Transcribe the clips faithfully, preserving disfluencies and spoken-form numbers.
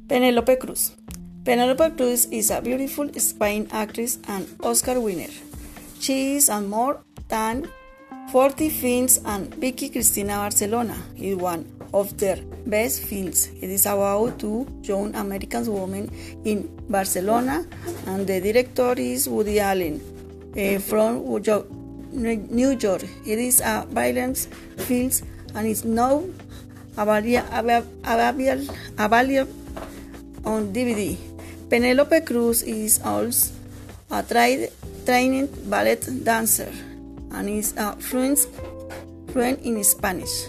Penélope Cruz. Penélope Cruz is a beautiful Spanish actress and Oscar winner. She is on more than forty films, and Vicky Cristina Barcelona is one of their best films. It is about two young American women in Barcelona, and the director is Woody Allen uh, from New York. It is a violent film and is now available on D V D. Penélope Cruz is also a tra- trained ballet dancer and is a fluent, fluent in Spanish,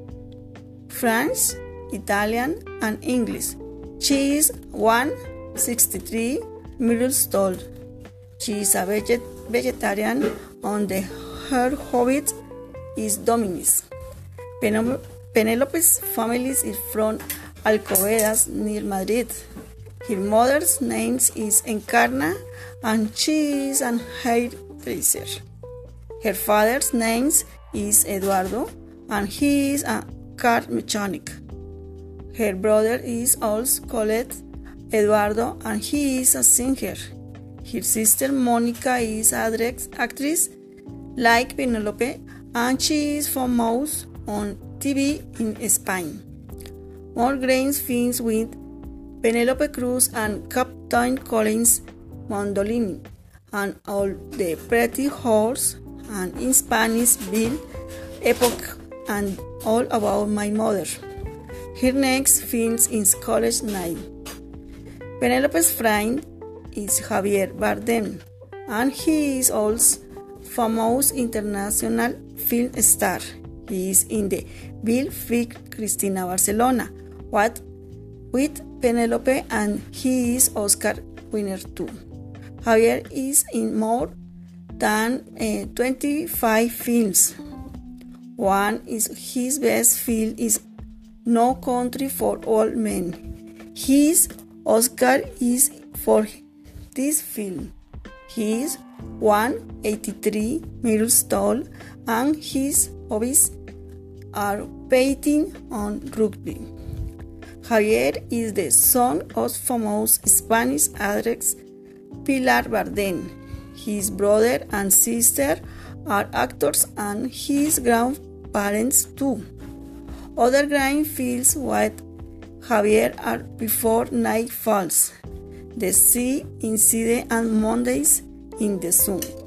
French, Italian, and English. She is one hundred sixty-three meters tall. She is a veget- vegetarian, and the, her hobby is dominance. Pen- Penelope's family is from Alcobendas near Madrid. Her mother's name is Encarna, and she is an hairdresser. Her father's name is Eduardo, and he is a car mechanic. Her brother is also called Eduardo, and he is a singer. Her sister Monica is an actress like Penelope, and she is famous on T V in Spain. More great films with Penélope Cruz and Captain Collins Mondolini, and All the Pretty Horse, and in Spanish Bill Epoch, and All About My Mother. Her next film is College Night. Penelope's friend is Javier Bardem, and he is also famous international film star. He is in the Bill Vicky Cristina Barcelona what with Penelope, and he is Oscar winner too. Javier is in more than uh, twenty-five films. One is his best film is No Country for Old Men. His Oscar is for this film. He is one hundred eighty-three meters tall, and his hobbies are painting and rugby. Javier is the son of famous Spanish actress Pilar Bardem. His brother and sister are actors, and his grandparents too. Other grand films with Javier are Before Night Falls, The Sea Inside, and Mondays in the Sun.